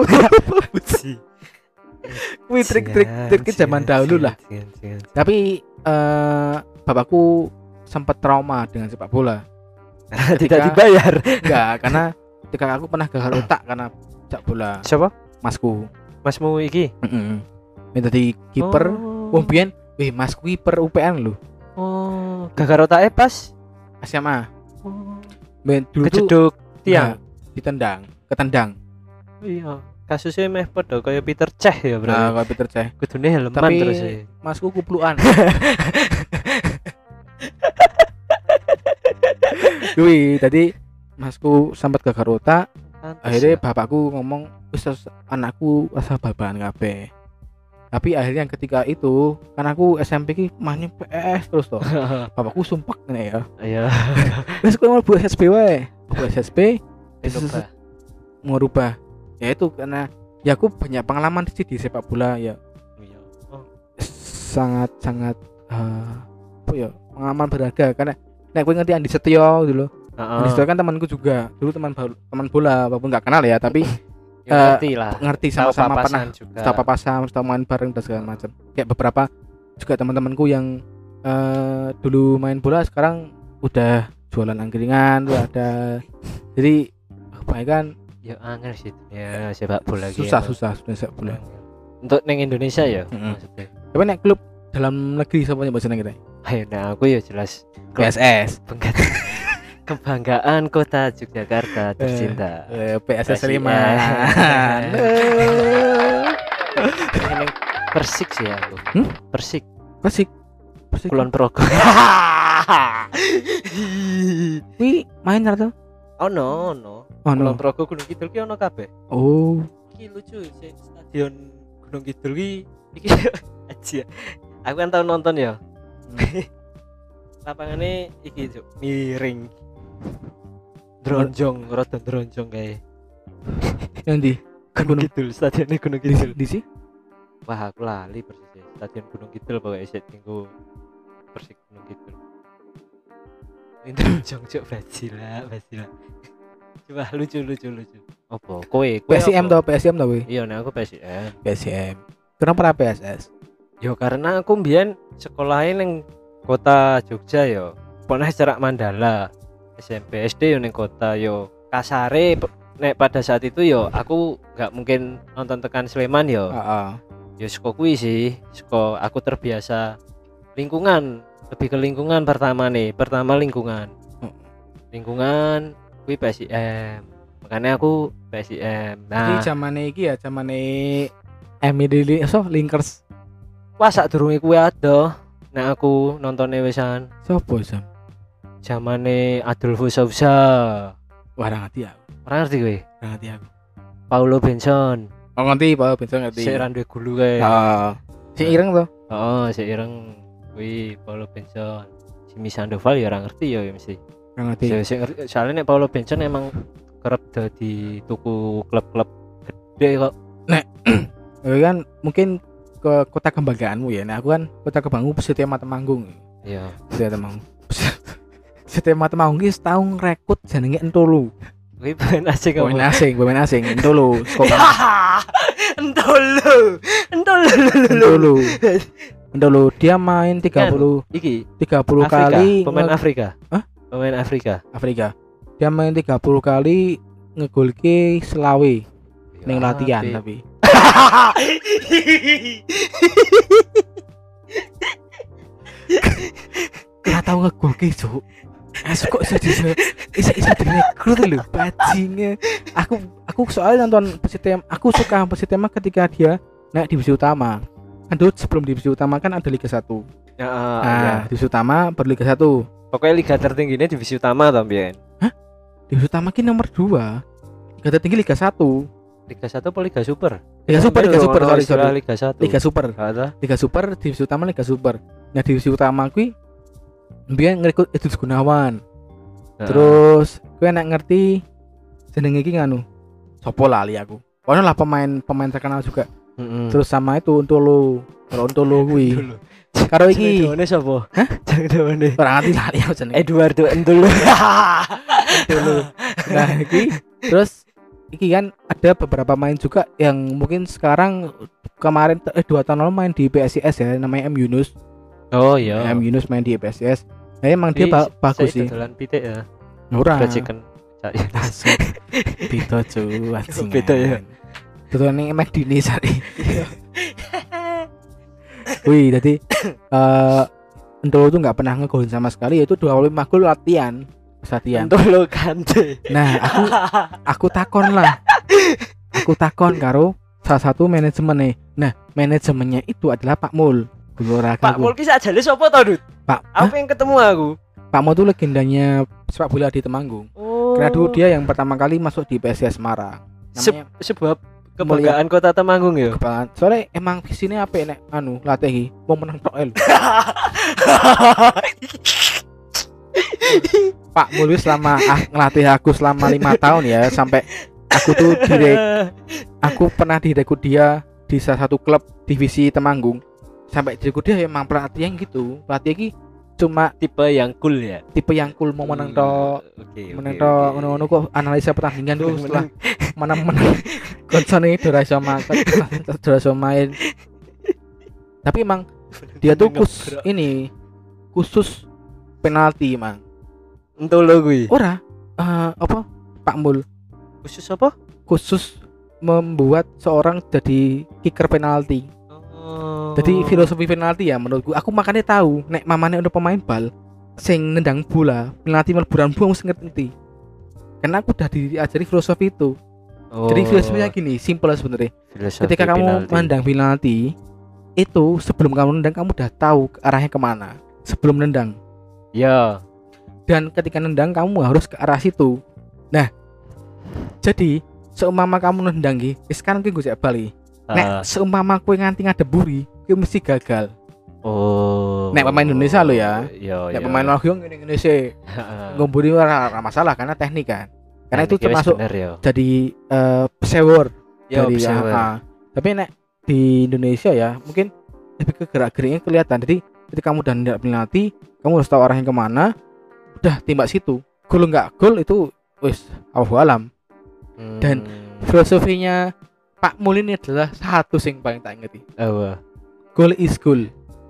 Kuwi trik-trik trik zaman dahulu lah. Tapi eh bapakku sempat trauma dengan sepak bola. Tidak Ketika- dibayar. Enggak, karena ketika aku pernah gagal otak karena sepak bola. Siapa? Masku. Masmu iki? Heeh. Minta kiper. Oh. Wong biyen, wih Mas kiper U P N lho. Oh, gagal otake pas. S M A. Oh. Ben dulu tuh Kejeduk tiang. nah, ditendang, ketendang. Iya. Kasusnya meh padha kaya Peter Cech ya, Bro. Nah, kalau Peter Cech. Kudune helman Tapi terus ya. Masku kuplukan. Kuwi tadi masku sempat gagal otak, Pantes akhirnya ya. bapakku ngomong wis wis, anakku asa babahan kabeh. Tapi akhirnya ketika itu kan aku S M P ki mainnya P S terus toh. Bapakku sumpah ngene ya. Iya. Wis kowe mau buat S S B wae. Buat S S B Coba. mau rubah. Ya itu karena ya aku banyak pengalaman sih di sepak bola ya. Iya. Oh, Sangat sangat eh, apa ya pengalaman berharga karena nek kowe ngerti Andi Setyo dulu. heeh. Andi Setyo kan temanku juga. Dulu teman bal- teman bola walaupun nggak kenal ya, tapi Ya, eh, ngerti lah. ngerti Tahu sama-sama papasan pernah juga. tahu papasan, tahu main bareng dan segala macam. Kayak beberapa juga teman-temanku yang eh, dulu main bola sekarang udah jualan angkringan, udah ada. Jadi kebanyakan Ya angel sih. Ya sepak bola gitu. susah susah sudah sepak bola. Untuk neng Indonesia ya Mm-mm. maksudnya. Tapi nek klub dalam negeri siapa yang bahasa kita? Ayo nah aku ya jelas P S S. Bangga- kebanggaan kota Yogyakarta tercinta. Eh, P S S P S I S. Sleman. Neng Persik sih aku. Hmm? Persik. Persik. Persik. Kulon Progo. Wi main rata. Oh no no. Oh Kulon no. Progo Gunung Kidul ki ono kabeh. Oh. Iki lucu sih stadion Gunung Kidul ki iki aja. Aku kan tau nonton ya. Lapangannya iki Cuk, miring. Dronjong, rada dronjong kae. Yang di Gunung Gunung- Kidul, stadionnya Gunung di, Kidul. di sih. Wah, aku lali persis ya. Stadion Gunung Kidul pokoknya set minggu Persik Gunung Kidul. Ini dronjong Cuk, Basila, Basila. Coba lucu lucu lucu. Apa? Kowe, P kowe S I M apa? toh, P S I M toh wi. Iya, nah aku P S I M. P S I M. Kenapa ora P S S? Yo karena aku mbiyen sekolahin ning kota Jogja yo. Pernah cerak Mandala. S M P S D yo ning kota yo. Kasare pe- nek pada saat itu yo aku nggak mungkin nonton tekan Sleman yo. Heeh. Yo saka kuwi sih, saka aku terbiasa lingkungan, lebih ke lingkungan pertama nih. Pertama lingkungan. Hmm. Lingkungan kuwi P S I M. Makanya aku P S I M. Iki Nah, zamane iki ya, zamane Emily so Linkers. wah sak durunge kuwi ada. Nek aku nontone wisan Sopo jam? zamane Adolfo Sousa. Wah, ora ngerti aku. Ora ngerti kowe? Ora ngerti aku. Paulo Benson. Oh ngerti, Pak, bisa ngerti. Sik ra duwe gulu kae. Heeh. Si ireng toh. Heeh, sik ireng kuwi Paulo Benson. Jimmy Sandoval ya ora ngerti ya mesti. Ora ngerti. Sik sik ngerti soalnya nek Paulo Benson emang kerep dadi tuku klub-klub gede kok. Kowe kan mungkin ke kota kebanggaanmu ya. Nah, aku kan kota kebanggaanmu Persitema Temanggung. Iya. Persitema Temanggung. Persitema Temanggung ki setahun rekrut jenenge Entolo. Kuwi pemain asing kok. Pemain asing, pemain asing Entolo. Entolo. Entolo. Entolo. Entolo dia main tiga puluh Iki tiga puluh Afrika, kali pemain nge- Afrika. Hah? Pemain Afrika. Afrika. Dia main tiga puluh kali ngegolke selawe ning latihan Apik. tapi. Ora tau ngegolke, Cuk. Asu kok iso iso iso iso direkrut lho bajinge. Aku aku soalnya nonton Persitema, aku suka Persitema ketika dia naik divisi utama. Kan dulu sebelum divisi utama kan ada Liga satu. Ya, Nah, iya. divisi utama berliga satu. Pokoknya liga tertingginya divisi utama toh mbiyen. Divisi utama ki nomor dua. Liga tertinggi Liga satu. Liga satu apa Liga Super? Liga Super, Liga Super, Ono sorry, istilah sorry. Liga satu. Liga Super. Ada. Liga Super, divisi utama Liga Super. Nah, divisi utama kuwi mbiyen ngerekrut Edus Gunawan. Terus kowe nek ngerti jenenge iki nganu. Sopo lali aku. Ono lah pemain pemain terkenal juga. Heeh. Terus sama itu Untolo. Kalau Untolo kuwi. Karo iki Ini sapa? Hah? Jangan dawane. ora ngerti lali aku jenenge. Eduardo Entolo. Untolo. Nah, iki terus iki kan ada beberapa main juga yang mungkin sekarang kemarin eh dua tahun lalu main di P S I S ya, namanya M Yunus. Oh iya. M Yunus main di P S I S. Nah, emang dia ba- bagus sih. Jalan pitik ya. Ora. Fried chicken. Langsung beda cuy, anjing. Beda ya? Betul nih emek dini sari. Wih, jadi eh Entolo tuh nggak pernah ngegolin sama sekali, yaitu dua puluh lima gol latihan. Pas latihan. Entolo Kante. Nah, aku aku takon lah. Aku takon karo salah satu manajemen nih. Nah, manajemennya itu adalah Pak Mul. Guru olahraga. Pak Mul ki sakjane sapa to, Dut? Pak Apa yang ketemu aku? Pak Mul tuh legendanya sepak bola di Temanggung. Oh. Karena dulu dia yang pertama kali masuk di P S I S Semarang. Se- Namanya sebab kebanggaan kota Temanggung ya. Kebanggaan. Soalnya emang visine apik nek anu latih iki mau menang tok lho. Pak Mulwi selama ah, ngelatih aku selama lima tahun ya, sampai aku tuh direk aku pernah direkrut dia di salah satu klub divisi Temanggung. Sampai direkrut dia emang pelatih yang gitu. Pelatih iki cuma Tipe yang cool ya. tipe yang cool mau menang tok. Oke. Menang tok ngono-ngono kok analisa pertandingan tuh setelah menang-menang koncone ora iso makan, ora iso main. Tapi emang dia tuh khusus ini khusus penalti emang. Entu lo kuwi. Ora eh, apa Pak Mul Khusus apa? khusus membuat seorang jadi kicker penalti. Oh. Jadi filosofi penalti ya menurutku. Aku makanya tahu nek mamane udah pemain bal sing nendang bola penalti melburan buang mesti ngerti. Karena aku udah diajari filosofi itu. Oh. Jadi filosofinya gini, simpel sebenarnya. Filosofi Ketika kamu penalti. menendang penalti itu sebelum kamu nendang kamu udah tahu arahnya kemana sebelum nendang. Ya. Dan ketika nendang kamu harus ke arah situ. Nah, jadi seumpama kamu nendang iki, wis kan iki gue bali. Nek Ah. seumpama kowe nganti ngadeburi, kowe mesti gagal. Oh. Nek pemain Indonesia lo ya. Yo, Nek yo. pemain luar negeri ngene-ngene sih. Ngomburi ora ora masalah karena teknik kan. Karena itu termasuk bener, yo. jadi uh, pesewor Yo, dari pesewor. A A. Tapi nek di Indonesia ya mungkin lebih ke gerak-geriknya kelihatan. Jadi ketika kamu udah nendang penalti, kamu harus tahu arahnya kemana. Udah tembak situ. Gol enggak gol itu wis Allahu alam. Hmm. Dan filosofinya Pak Mul ini adalah satu sing paling tak ingeti. apa? Goal is goal.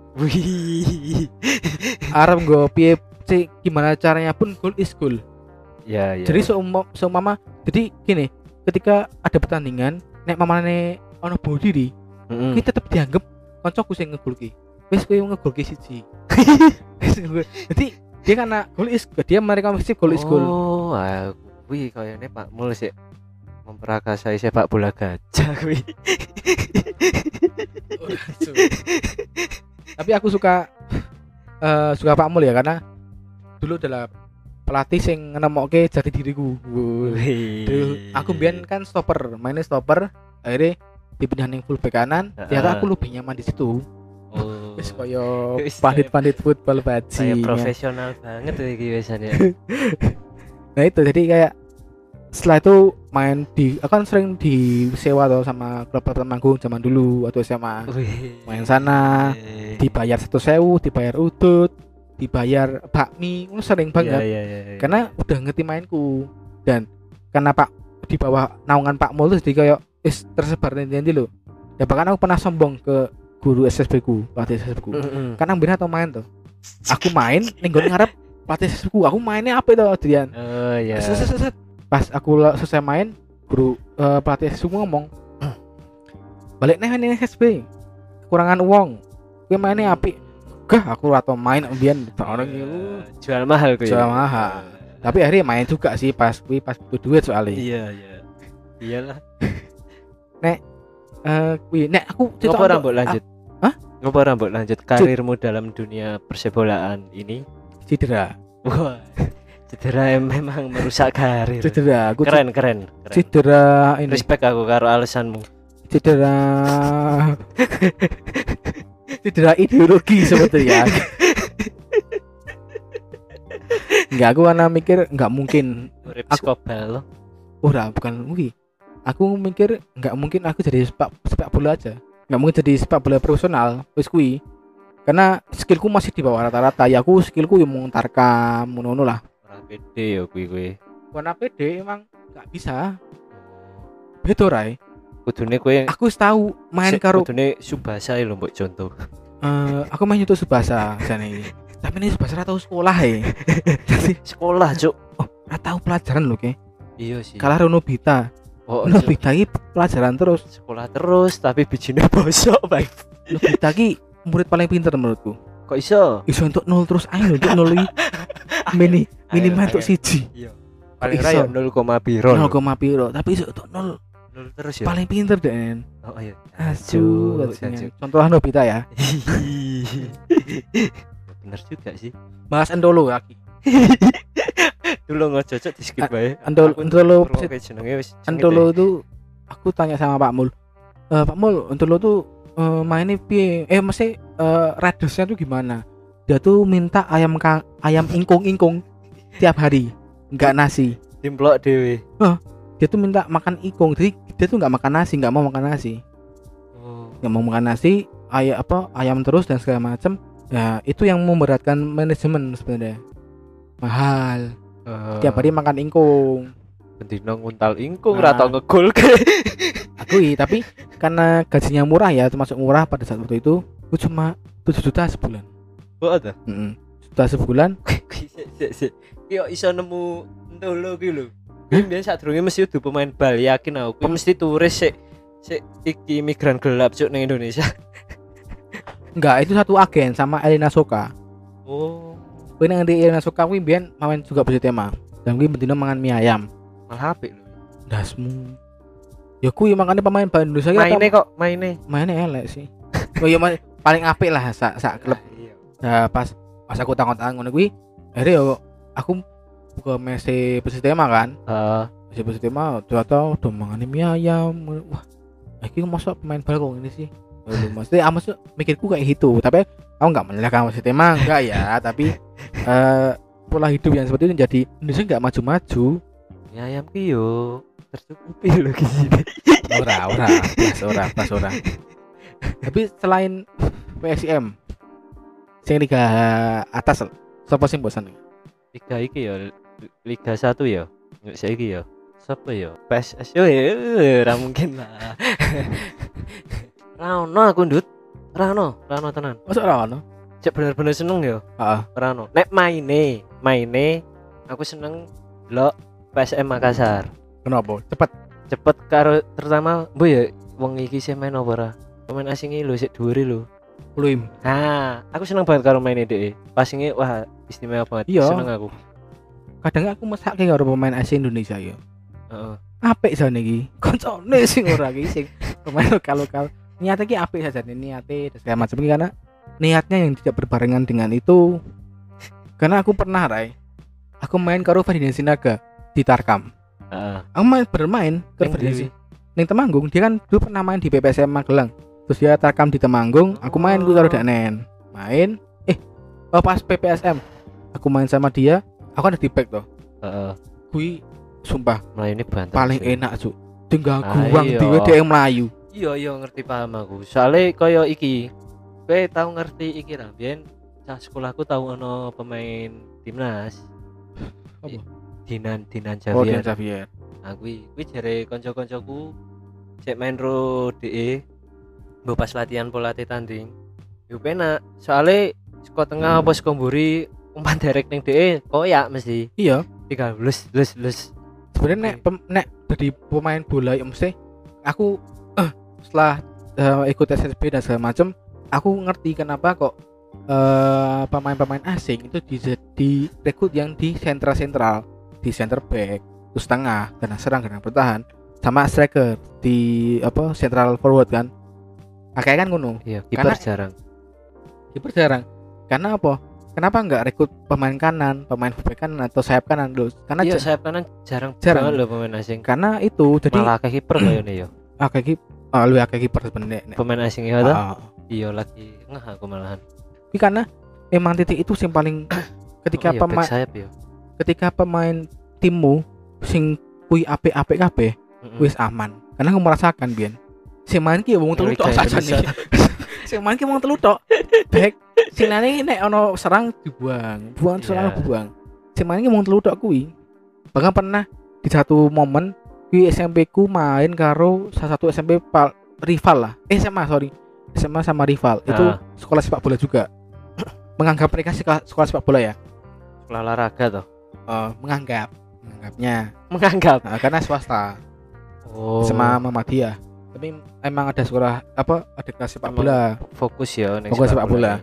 Wih. Arep nggo piye sih gimana caranya pun goal is goal. Ya, ya. Jadi seumpama seumpama jadi gini, ketika ada pertandingan nek mamane ono bunuh diri, Mm-mm. kita tetap dianggap koncoku sing ngegolki. Wis kowe ngegolki siji. Wis ngegol. Jadi dia karena goal is dia mereka mesti goal is goal. Oh, ah, wih kayaknya Pak Mul sih memperakasai sepak bola gajah kuwi. Tapi aku suka eh, suka Pak Mul ya karena dulu adalah pelatih sing nemokke jati diriku. Wih. Dulu aku mbiyen kan stopper, mainnya stopper, akhirnya dipindah ning full back kanan, ternyata aku lebih nyaman di situ. Oh. Wis koyo Wis pandit-pandit football kayak bajingan. profesional banget iki biasanya. Nah itu jadi kayak setelah itu main di akan sering disewa atau sama klub Temanggung zaman dulu atau S M A. Wih. Main sana dibayar satu sewu, dibayar udut, dibayar bakmi, itu sering banget. Iya, iya, iya, iya. Karena udah ngerti mainku dan karena Pak di bawah naungan Pak Mul terus jadi kayak is tersebar nanti loh. Ya bahkan aku pernah sombong ke guru S S B ku, pelatih S S B ku. Mm-mm. Karena bener atau main tuh. Aku main ning nggon ngarep pelatih S S B ku. Aku mainnya apa itu Adrian? Oh ya. Set, set, set, set. Pas aku la- selesai main, guru eh, pelatih S S B ku ngomong, "Balik nih ini S S B. Kekurangan uang. Kowe mainnya apik." Gah, aku atau main mbiyen orang itu Jual mahal kuwi. jual mahal. Tapi akhirnya main juga sih pas kuwi pas butuh duit soalnya. Iya, iya. Iyalah. Eh kuwi nek aku Ngopo ora mbok lanjut? Hah? Ngopo ora mbok lanjut karirmu dalam dunia persebolaan ini? Cedera. Wah. Cedera yang memang merusak karir. Cedera. Aku Keren, keren, keren. cedera ini. Respect aku karo alasanmu. Cedera. Cedera ideologi sebetulnya. Enggak, aku karena mikir enggak mungkin. Urip Aku- skobal. Ora, bukan kuwi. Aku mikir enggak mungkin aku jadi sepak sepak bola aja. Enggak mungkin jadi sepak bola profesional. Wis kuwi. Karena skillku masih di bawah rata-rata. Ya aku skillku yang mau tarkam, ngono lah. Ora pede ya kuwi kuwi. Warna P D emang enggak bisa. Beda rai. Kudune kowe Aku wis tahu main sik, karo kudune Subasa lho mbok contoh. eh aku main YouTube Subasa jane. Tapi ini Subasa ora tau sekolah ya. Jadi Sekolah, Cuk. oh, ora tau pelajaran lho ke. Iya sih. Kalah Rono Bita. Oh, Rono Cuk. Bita iki pelajaran terus. Sekolah terus tapi bijine bosok, Bang. Rono Bita iki murid paling pinter menurutku. Kok iso? Iso untuk nol terus ayo untuk nol iki. Mini minimal untuk siji. Iya. Paling Iso. ra ya nol koma piro. nol koma piro tapi iso untuk nol nol terus ya. paling pinter Den. Oh iya. Asu, Asu, asu. Contoh Nobita ya. Bener juga sih. Bahas Endolo lagi. Dulu ngococok di skip bae. Antolo Antolo jenenge wis. Antolo itu aku tanya sama Pak Mul. E, Pak Mul, Antolo tuh uh, mainnya piye? Eh mesti uh, radiusnya tuh gimana? Dia tuh minta ayam kang, ayam ingkung-ingkung tiap hari, enggak nasi. Dimplok dhewe. Huh, dia tuh minta makan ingkung. Jadi dia tuh enggak makan nasi, enggak mau makan nasi. Oh. Enggak mau makan nasi, ayam apa? Ayam terus dan segala macam. Ya, itu yang memberatkan manajemen sebenarnya. Mahal. Uh, tiap hari makan ingkung. Bendino nguntal ingkung nah, atau ngegol ke. Akui, tapi karena gajinya murah ya, termasuk murah pada saat waktu itu, itu cuma tujuh juta sebulan. Oh ada? Heeh. Juta sebulan. Yo iso nemu ndolo ki lho. Biyen sadurunge mesti udah pemain bal, yakin aku. Kuwi mesti turis sik sik iki migran gelap cuk ning Indonesia. Enggak, itu satu agen sama Elena Soka. Oh. Kuwi nang ndi Elena Soka kuwi biyen main juga besi tema. Dan kuwi bendino mangan mie ayam. Malah apik lho. Dasmu. Ya kuwi makane pemain bal Indonesia maine kok maine. Maine elek sih. Oh ya paling apik lah sak sak klub. Nah, pas pas aku tangan-tangan ngono kuwi, akhirnya yo aku buka mese Persitema kan. Heeh. Uh. Mese Persitema ternyata udah mangane mie ayam. Wah, iki masa pemain bal kok ini sih. Lho mesti ah maksud mikirku kayak gitu, tapi aku enggak menyalahkan Persitema enggak ya, tapi uh, pola hidup yang seperti itu jadi Indonesia enggak maju-maju. Mie ayam ki yo tercukupi lho di sini. Ora, ora, plus ora, plus ora. Tapi selain P S I M sing liga atas sapa sing bosan? Liga iki ya Liga satu ya. Nek saiki ya. Sapa ya? P S S yo ora mungkin lah. Ra ono aku ndut. Ra ono, ra ono tenan. Masa ra ono? Cek bener-bener seneng ya. Heeh. Ra ono. Nek maine, maine aku seneng delok P S M Makassar. Kenapa? Cepet. Cepet karo terutama mbok ya wong iki sing main apa ora? Pemain asing iki lho sik dhuwure lho. Luim. Nah, aku seneng banget karo main dhek. Passingnya wah istimewa banget. Iya. Seneng aku. Kadang aku mesake karo pemain asing Indonesia ya. Heeh. Apik jane iki. Koncone sing ora iki sing pemain lokal-lokal. Niatnya iki apik saja nih niate dan segala macam ini karena niatnya yang tidak berbarengan dengan itu. Karena aku pernah Rai. Aku main karo Ferdinand Sinaga di Tarkam. Heeh. Aku main bermain ke Ferdinand. Ning Temanggung dia kan dulu pernah main di B P S M Magelang. Terus dia Tarkam di Temanggung, aku main gue karo Danen. Main, eh oh pas P P S M aku main sama dia, aku ada di back toh. Heeh. Kui sumpah Melayu ini banter. paling sih. enak cuk. Tinggal Ah, guang iya. dhewe dhek mlayu. Iya iya ngerti paham aku. Soale kaya iki. Kowe tau ngerti iki ra? Biyen cah sekolahku tau ono pemain timnas. Apa? Dinan Dinan Oh, Dian Javier. Xavier. Nah kuwi kuwi jare kanca-kancaku cek main ro D E mbok pas latihan pola tanding. Yo penak. Soale saka tengah apa saka mburi umpan derek ning D E koyak mesti. Iya, Tinggal lus lus lus. sebenarnya nek pem, nek jadi pemain bola ya mesti aku eh, setelah eh, ikut S S B dan segala macam, aku ngerti kenapa kok eh, pemain-pemain asing itu di, di rekrut yang di sentral-sentral, di center back, terus tengah, gelandang serang, gelandang bertahan, sama striker di apa central forward kan. Kayak kan ngono. Iya, kiper Karena- jarang. Kiper jarang. Karena apa? Kenapa enggak rekrut pemain kanan, pemain fullback kanan atau sayap kanan dulu? Karena Iya, ja- sayap kanan jarang, Jarang. banget loh pemain asing. karena itu jadi Malah ke kiper kayaknya ya. akeh ki ah, lu akeh kiper sebenarnya. nek. Pemain asing ya ta? Ah, Iya lagi ngah aku malahan. Tapi karena emang titik itu yang paling ketika Oh iya, pemain back sayap ya. ketika pemain timmu sing kui apik-apik kabeh Mm-mm. wis aman. Karena aku merasakan biyen. Sing main ki ya wong telu tok Liga saja nih. Indonesia. Sing main ki wong telu tok. Back sing lane nek ono serang dibuang, buang serang Iya. buang. Sing main ki wong telu tok kuwi. Bahkan pernah di satu momen kuwi S M P ku main karo salah satu S M P pal, rival lah. Eh S M A sorry. S M A sama rival. Itu Ah. sekolah sepak bola juga. Menganggap mereka sekolah, sekolah sepak bola ya. Sekolah olahraga toh. Eh, menganggap menganggapnya Menganggap. nah, karena swasta Oh. sama Muhammadiyah. Tapi emang ada sekolah apa ada kelas sepak Emang bola. Fokus ya ning Fokus sepak bola.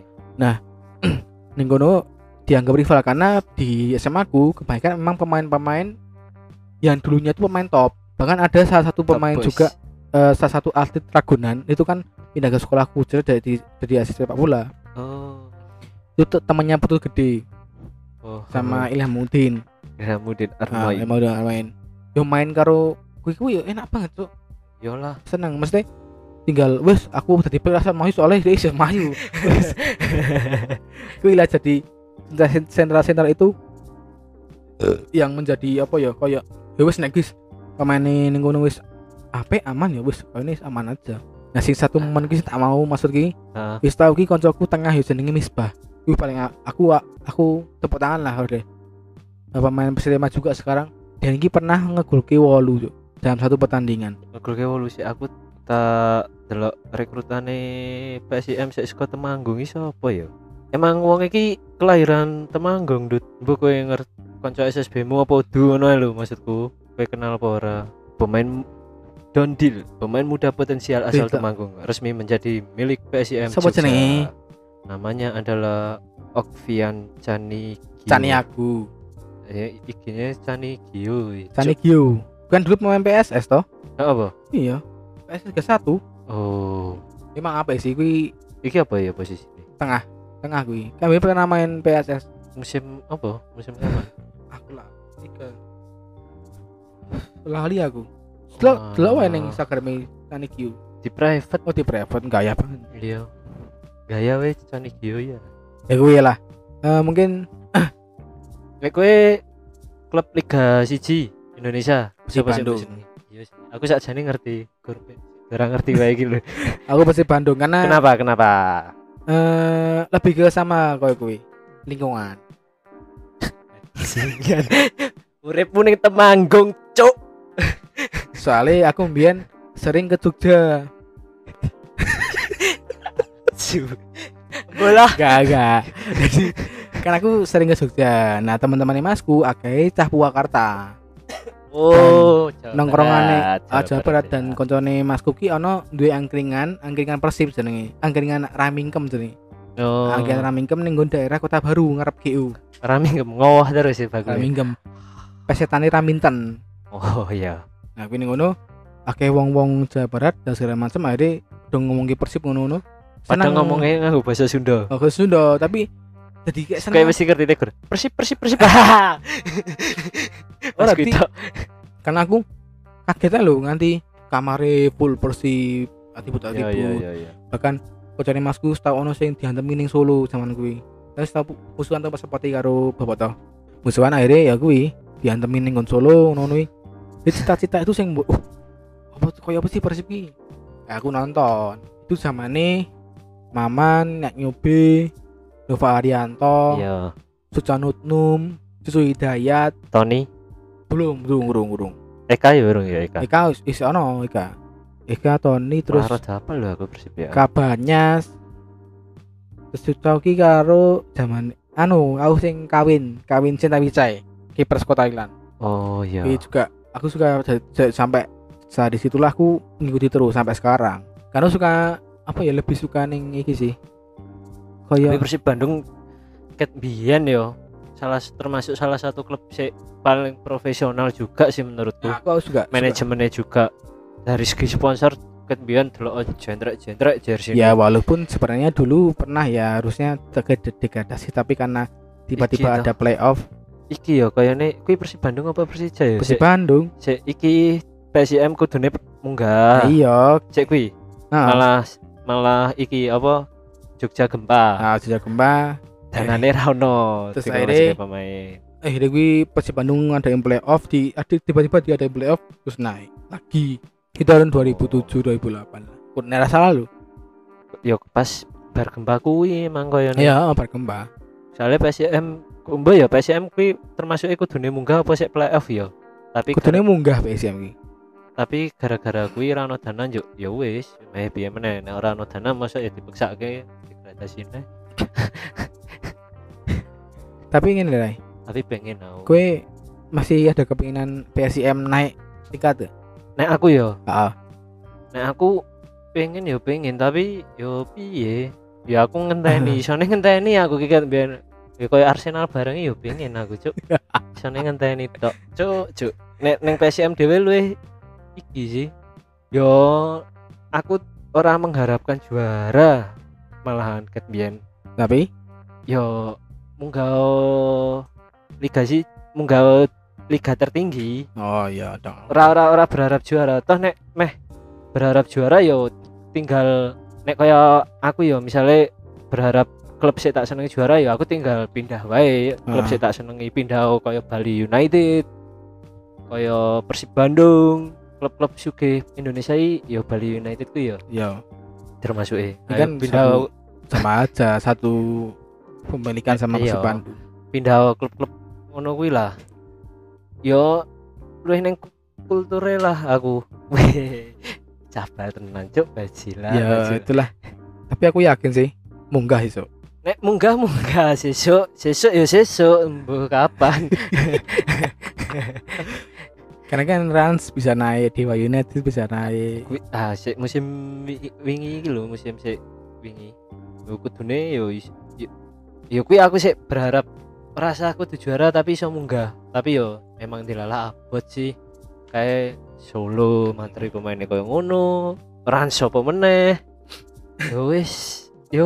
Ning kono dianggap rival karena di S M A ku kebanyakan memang pemain-pemain yang dulunya itu pemain top. Bahkan ada salah satu Top pemain boys. juga eh, salah satu atlet Ragunan itu kan pindah ke sekolahku jadi dari dari asisten sepak bola. Oh. Itu te- temannya Putul Gede Oh. sama Ilham Udin. Ihsamuddin Nah, Armain. emang udah main. Yo main karo kuwi kuwi yo enak banget, Cuk. Yolah. Seneng mesti tinggal wes aku tadi perasaan mayu soalnya dia isih mayu. Wes. Kuwi lah jadi sentral-sentral itu yang menjadi apa ya kayak ya wes nek wis pemaine ning kono wis apik aman ya wis ini aman aja. Nah sing satu momen ki tak mau maksud ki Heeh. wis tau ki koncoku tengah ya jenenge Misbah. Kuwi paling a- aku aku tepuk tangan lah udah. Pemain Persema juga sekarang dan ini pernah ngegolke wolu Cuk, dalam satu pertandingan. Ngegolke wolu sih aku tak delok rekrutane P S I M sik saka Temanggung iki sapa ya? Emang wong iki kelahiran Temanggung, Dut. Mbok kowe ngerti kanca S S B-mu apa udu ngono lho maksudku. Kowe kenal apa ora? Pemain Dondil, pemain muda potensial asal Tidak. Temanggung, resmi menjadi milik P S I M. Siapa Jogja. jenenge? Namanya adalah Okvian Cani Gio. Cani aku, Eh, ikinya Cani Gio. Cani Gio. Bukan dulu pemain P S S toh? Cuk, apa? Iya. P S S Liga satu. Oh, Emang apa sih kuwi iki apa ya posisinya? tengah kuwi. Kami pernah main P S S. Musim apa? Musim kapan? Aku lah tiga. Lali aku. Delok Wah. delok wae ning Instagram Cani Gio. Di private. Oh di private gaya banget. Iya. Gaya weh Cani Gio ya. Ya kuwi lah. Eh mungkin Nek kowe klub Liga satu Indonesia Persib siapa sih Bandung. musim ini? Iya sih. Aku sakjane ngerti Gorpe. Ora ngerti wae iki lho. aku Persib Bandung karena Kenapa? Kenapa? eh lebih ke sama koyo kuwi. Lingkungan. Singan. Uripmu ning Temanggung, Cuk. Soalnya aku mbiyen sering ke Jogja. Bola. Gak, gak. Jadi kan aku sering ke Jogja. Nah, teman-teman masku akeh cah Purwakarta. Oh, Nongkrongane aja berat dan koncone masku ki ono duwe angkringan, angkringan Persib jenenge. Angkringan Ramingkem jenenge. Oh, Angkringan Ramingkem ning nggon daerah Kota Baru ngarep G U. Rami ngowoh terus ya bagus. Ramingkem. Pesetane Raminten. Oh iya. Nah, kuwi ning ngono akeh wong-wong Jawa Barat dan segala macam akhirnya dong ngomongin Persib ngono-ngono. Padahal ngomongnya nganggo bahasa Sunda. Oh, ke Sunda, tapi jadi kayak seneng. Kayak mesti ngerti tegur. Persib, persib, persib. Oh, Mas berarti- Guito. Karena aku kaget lho nganti kamare full Persib, atibut Iya, atibut. iya, iya, iya. Bahkan kocone masku tau ono sing diantem ning Solo zaman kuwi. Terus tau musuhan tau pas sepati karo bapak tau. Musuhan akhirnya ya kuwi diantem ning nggon Solo ngono kuwi. Jadi cita-cita itu sing mbok, oh, apa koyo apa sih Persib ki? Ya, aku nonton. Itu zamane Maman, Nyak Nyobe, Nova Arianto, Iya. Sucanutnum, Susu Hidayat, Tony, belum, belum, belum, belum. Eka ya urung ya Eka. Eka wis wis ono Eka. Eka Tony terus Terus apa lho aku persib ya. Kabanyas. Terus dicoki karo zaman anu aku sing kawin, kawin Cinta Wicai, kiper Kota Thailand. Oh iya. Ini juga aku suka j- j- sampai saat disitulah aku ngikuti terus sampai sekarang. Karena suka apa ya lebih suka ning iki sih. Tapi Kayak Persib Bandung ket biyen yo. Salah termasuk salah satu klub sih paling profesional juga sih menurutku. nah, aku juga suka. Manajemennya juga dari segi sponsor ket biyen delok jendrek-jendrek jersey. Ya walaupun sebenarnya dulu pernah ya harusnya terjadi degradasi tapi karena tiba-tiba Iki ada playoff Iki yo kayaknya kuwi Persib Bandung apa Persija ya? Persib Sik- Bandung. sik iki P S I M kudune munggah. Iya. Cek kuwi Nah, malah malah iki apa Jogja gempa. nah sejak gempa Danane ra ono. Terus Dikono akhirnya- sebagai pemain. eh ini gue Persib Bandung ada yang playoff di ada tiba-tiba dia ada yang playoff terus naik lagi di tahun dua ribu tujuh dua ribu delapan pun era salah lu Yo pas bar gempa kuwi emang koyo iya bar gempa soalnya P S I M kumbo ya P S I M kuwi termasuk iku dune munggah apa sik playoff ya. Tapi kudune munggah P S M iki tapi gara-gara kuwi ra ono dana yo ya wis meh piye meneh nek ora ono dana mosok ya dipeksake degradasine. tapi ingin deh Tapi pengen aku. gue masih ada kepinginan P S M naik tingkat tuh Nek aku yo, ah nek aku pengen yo pengen tapi yo piye? Ya aku ngenteni, isone ngenteni aku ki kan biyen ya koyo Arsenal bareng yo pengen aku, Cuk. Isone ngenteni tok. Cuk, Cuk. Nek ning P S M dhewe luwih iki sih. Yo aku ora mengharapkan juara malahan ket biyen. tapi Yo munggah Liga sih munggah liga tertinggi. Oh iya dong. Ora ora ora berharap juara. Toh nek meh berharap juara yo tinggal nek kaya aku yo misalnya berharap klub sik tak senengi juara ya aku tinggal pindah wae klub Ah. sik tak senengi pindah kaya Bali United kaya Persib Bandung klub-klub sugih Indonesia iki ya Bali United ku ya Iya. termasuk e Ini kan pindah satu- sama aja satu pemilikan sama Iya. Persib Bandung. pindah klub-klub ngono kuwi lah yo luwih ning kulture lah aku cabal tenan cuk bajilah Ya bajilah. itulah. Tapi aku yakin sih munggah iso. Nek munggah munggah sesuk sesuk ya sesuk mbuh kapan Karena kan Rans bisa naik, Dewa United bisa naik. Kuwi ah sik musim wi- wingi iki lho musim sik wingi yo kudune yo is- yo, yo kuwi aku sik berharap rasa aku tuh juara tapi iso munggah tapi yo emang dilalah abot sih kayak Solo materi pemainnya koyo ngono Rans sapa meneh yo wis yo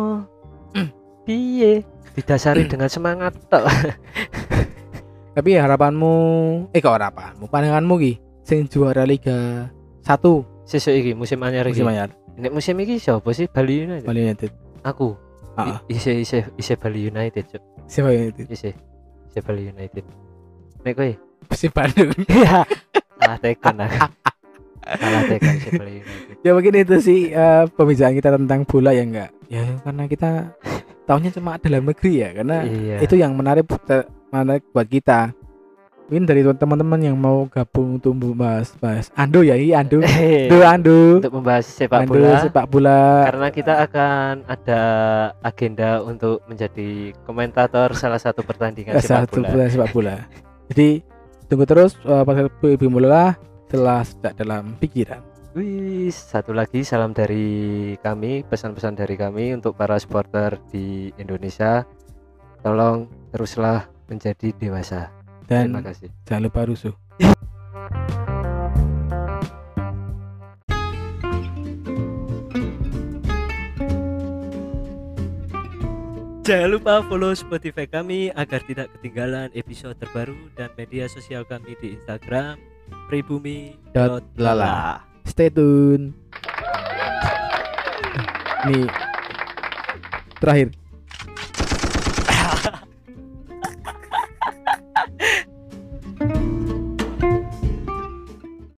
piye didasari dengan semangat tok. Tapi harapanmu, eh kok harapanmu, pandanganmu ki sing juara Liga satu Sesuk iki musim anyar iki. musim anyar Nek musim iki siapa sih Bali United? Bali United. Aku. Heeh. Ise ise ise Bali United, Cuk. Siapa United? Ise. Ise Bali United. Nek kowe? Persib Bandung. Iya. Salah tekan aku. Salah tekan ise Bali United. Ya mungkin itu sih eh, pembicaraan kita tentang bola ya enggak. Ya karena kita tahunya cuma dalam negeri ya, karena Iya. itu yang menarik buat- menarik buat kita. Mungkin dari teman-teman yang mau gabung untuk membahas bahas Ando ya, iya Ando. Ando Ando. Untuk membahas sepak Ando bola. sepak bola. Karena kita akan ada agenda untuk menjadi komentator salah satu pertandingan sepak Satu bola. bola sepak bola. Jadi tunggu terus uh, podcast Ibu Bola setelah sejak dalam pikiran. Wih, satu lagi salam dari kami, pesan-pesan dari kami untuk para supporter di Indonesia. Tolong teruslah menjadi dewasa. Dan Terima kasih. jangan lupa rusuh. Jangan lupa follow Spotify kami agar tidak ketinggalan episode terbaru dan media sosial kami di Instagram pribumi Dot lala. Stay tune. Nih terakhir